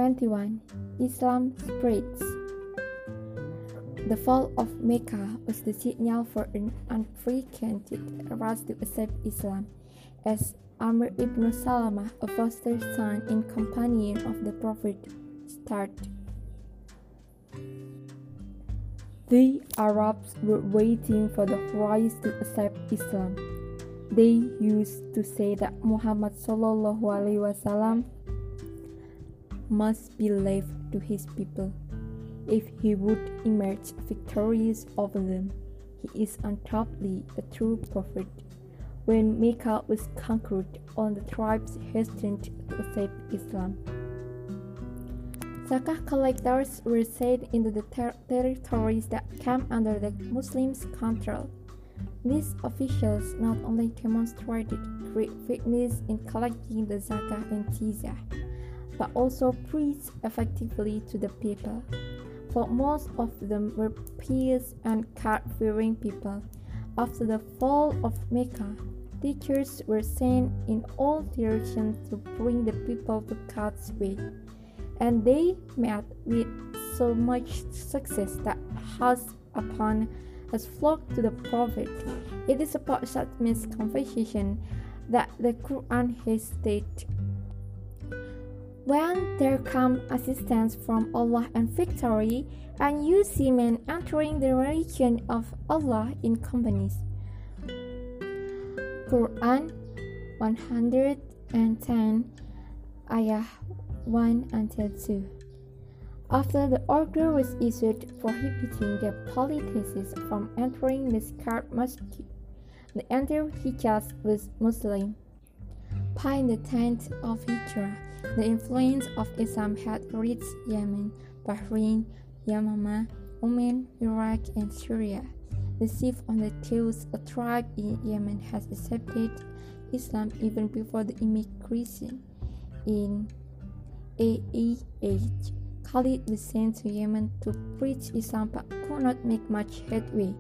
21. Islam spreads. The fall of Mecca was the signal for an unprecedented rush to accept Islam, as Amr ibn Salamah, a foster son and companion of the Prophet, started. The Arabs were waiting for the rise to accept Islam. They used to say that Muhammad ﷺ must be left to his people. If he would emerge victorious over them, he is undoubtedly a true prophet. When Mecca was conquered, all the tribes hastened to accept Islam. Zakah collectors were sent into the territories that came under the Muslims' control. These officials not only demonstrated great fitness in collecting the zakah and jizyah, but also preached effectively to the people, for most of them were pious and God-fearing people. After the fall of Mecca, teachers were sent in all directions to bring the people to God's way, and they met with so much success that Hajj upon has flocked to the Prophet. It is about such misconception that the Quran has stated, "When there comes assistance from Allah and victory, and you see men entering the religion of Allah in companies." Quran 110, ayah 1-2. After the order was issued prohibiting the polytheists from entering the sacred mosque, the entire Hijaz was Muslim. By the 10th of Hijrah, the influence of Islam had reached Yemen, Bahrain, Yamama, Oman, Iraq, and Syria. The chief of the Taus, a tribe in Yemen, has accepted Islam even before the immigration. In AEH, Khalid was sent to Yemen to preach Islam but could not make much headway.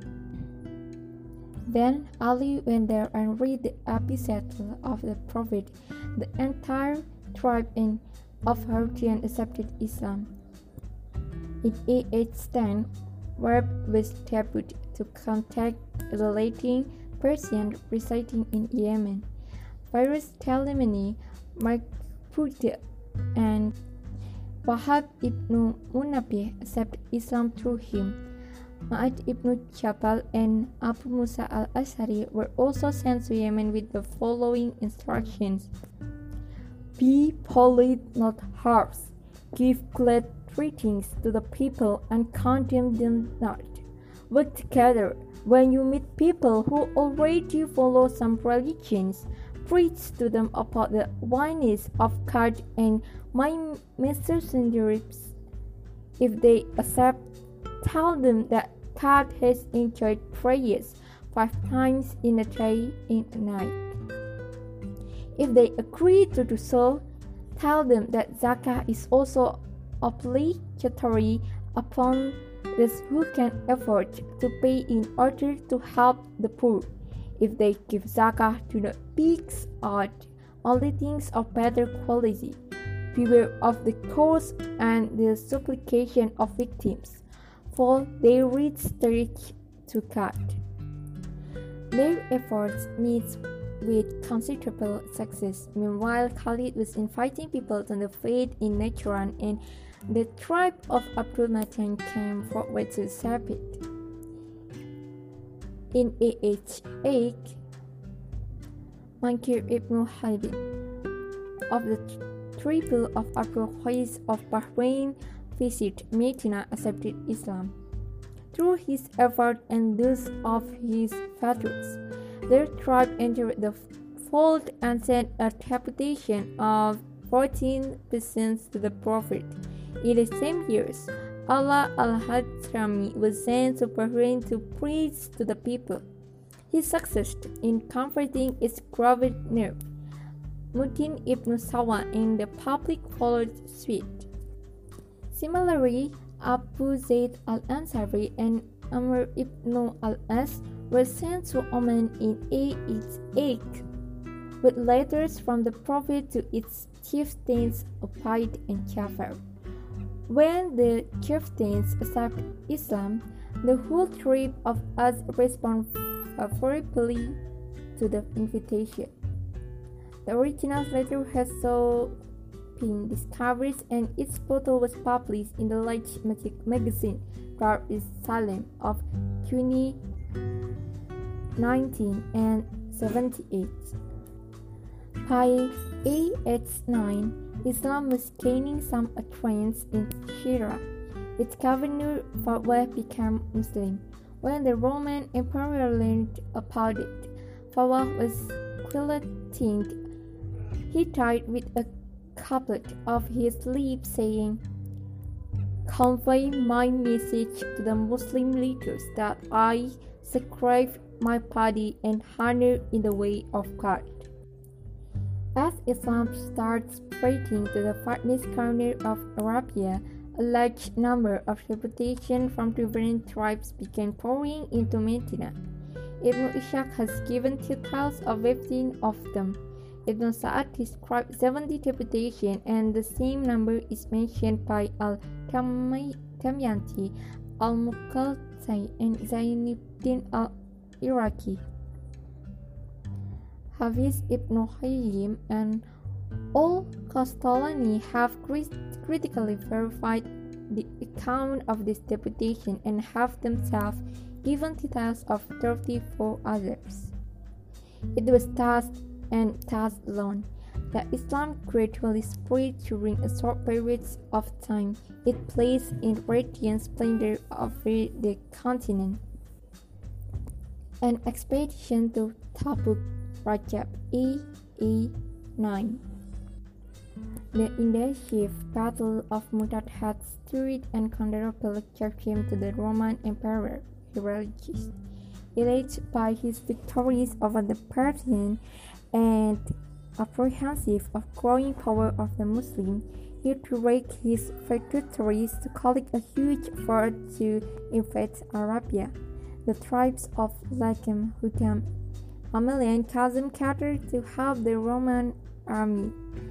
Then Ali went there and read the epistle of the Prophet. The entire tribe of Hawazin accepted Islam. In AH 10, Wahb was deputed to contact the Latin Persian residing in Yemen. Fairuz Telemani, Mark and Wahab ibn Munabbih accepted Islam through him. Ma'ad ibn Jabal and Abu Musa al-Ash'ari were also sent to Yemen with the following instructions: "Be polite, not harsh. Give glad greetings to the people and condemn them not. Work together. When you meet people who already follow some religions, preach to them about the oneness of God and my messengers. If they accept, tell them that God has enjoined prayers 5 times in a day and a night. If they agree to do so, tell them that zakah is also obligatory upon those who can afford to pay in order to help the poor. If they give zakah, do not pick out only things of better quality. Beware of the cause and the supplication of victims, for they reach straight to God." Their efforts met with considerable success. Meanwhile, Khalid was inviting people to the faith in Najran, and the tribe of Abdul Matan came forward to accept it. In AH 8, Mankir ibn Habib of the tribe of Abdul Qais of Bahrain visited Medina, accepted Islam. Through his effort and those of his fathers, their tribe entered the fold and sent a deputation of 14 persons to the Prophet. In the same years, Allah al-Hadrami was sent to Bahrain to preach to the people. He succeeded in converting its governor, Mutin ibn Sawa, and the public followed suit. Similarly, Abu Zayd al-Ansari and Amr ibn al-As were sent to Oman in AH 8. with letters from the Prophet to its chieftains Ubayd and Ja'far. When the chieftains accept Islam, the whole tribe of us respond favorably to the invitation. The original letter has so been discovered and its photo was published in the large magazine Dar es Salaam of 1978. By age 9, Islam was gaining some adherents in Syria. Its governor Fawwah became Muslim. When the Roman Emperor learned about it, Fawwah was guillotined. He died with a couplet of his lips saying, "Convey my message to the Muslim leaders that I sacrifice my body and honor in the way of God." As Islam starts spreading to the farthest corner of Arabia, a large number of deputations from different tribes began pouring into Medina. Ibn Ishaq has given details of 15 of them. Ibn Sa'ad described 70 deputations, and the same number is mentioned by Al-Damayanti, Al-Muqallati, and Zainuddin al-Iraqi. Hafiz Ibn Qayyim and Al-Qastallani have critically verified the account of this deputation and have themselves given details of 34 others. It was thus and thus alone that Islam gradually spread during a short period of time. It placed in radiant splendor over the continent. An expedition to Tabuk, Rajab A.A. 9. The indecisive Battle of Mu'tah had stirred and considerable shame to the Roman Emperor Herodotus. Elated by his victories over the Persians and apprehensive of growing power of the Muslims, he directed his feudatories to collect a huge force to invade Arabia. The tribes of Lakim, Hukam, Amelia, and Kazim gathered to help the Roman army.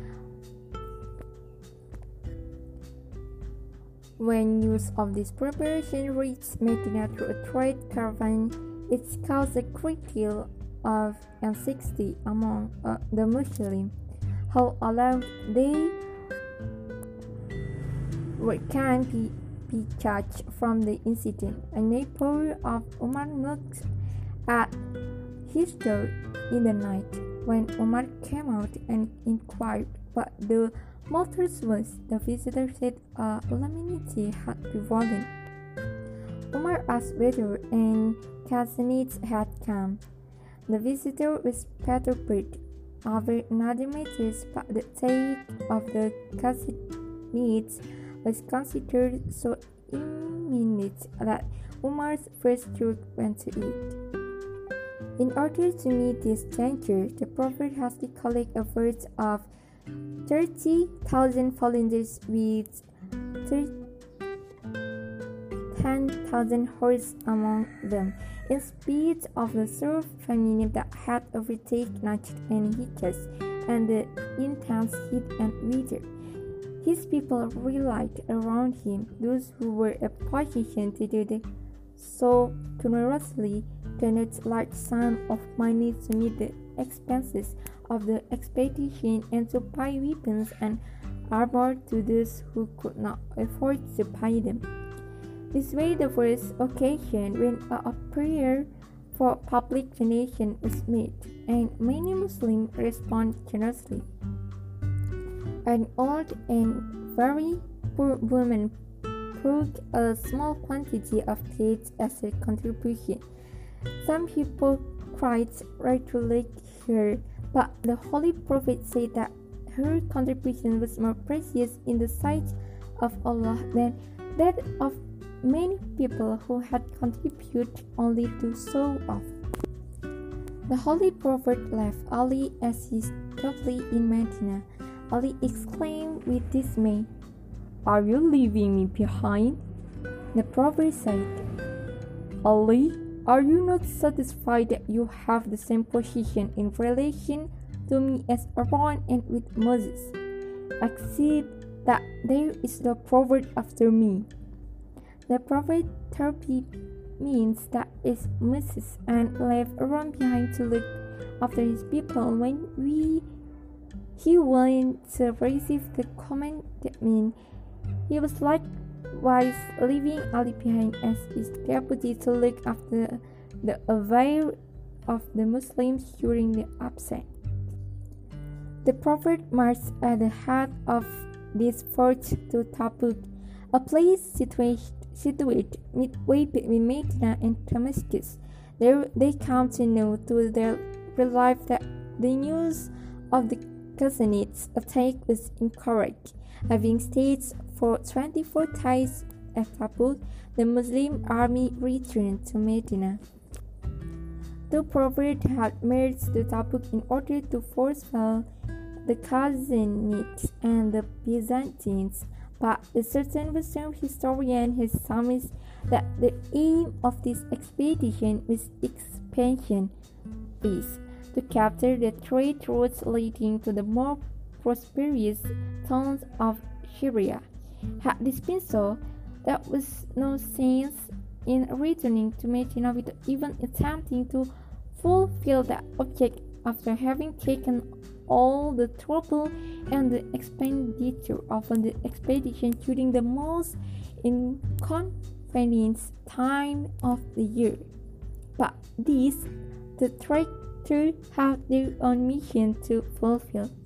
When news of this preparation reached Medina through a trade caravan, it caused a great deal of anxiety among the Muslims. How alarmed they can be judged from the incident. A neighbor of Umar knocked at his door in the night. When Umar came out and inquired what the matter was, the visitor said a calamity had befallen. Umar asked whether any Ghazanids had come. The visitor was perturbed over another matter, but the sake of the Ghazanids was considered so imminent that Umar's first thought went to it. In order to meet this danger, the Prophet has to collect a force of 30,000 volunteers with 10,000 horse among them, in spite of the severe famine that had overtaken Najd and Hijaz and the intense heat and weather. His people relied around him. Those who were in a position to do this so generously donated large sums of money to meet the expenses of the expedition and to buy weapons and armor to those who could not afford to buy them. This way, the first occasion when a prayer for public donation was made, and many Muslims responded generously. An old and very poor woman brought a small quantity of dates as a contribution. Some hypocrites ridiculed her, but the Holy Prophet said that her contribution was more precious in the sight of Allah than that of many people who had contributed only to show off. The Holy Prophet left Ali as he stopped in Medina. Ali exclaimed with dismay, "Are you leaving me behind?" The Prophet said, "Ali, are you not satisfied that you have the same position in relation to to me as Aaron and with Moses, except that there is the prophet after me. The prophet therapy means that is Moses and left Aaron behind to look after his people when he went to receive the commandment. He was likewise leaving Ali behind as his deputy to look after the affairs of the Muslims during the absence. The prophet marched at the head of this force to Tabuk, a place situated midway between Medina and Damascus. There they come to know to their relief that the news of the Ghazanites' attack was incorrect. Having stayed for 24 days at Tabuk, the Muslim army returned to Medina. The prophet had marched to Tabuk in order to forestall the Ghazanites and the Byzantines, but a certain Western historian has summarized that the aim of this expedition was expansion is to capture the trade routes leading to the more prosperous towns of Syria. Had this been so, there was no sense in returning to Medina without even attempting to fulfill that object after having taken all the trouble and the expenditure of the expedition during the most inconvenient time of the year. But these, the traitor, have their own mission to fulfill.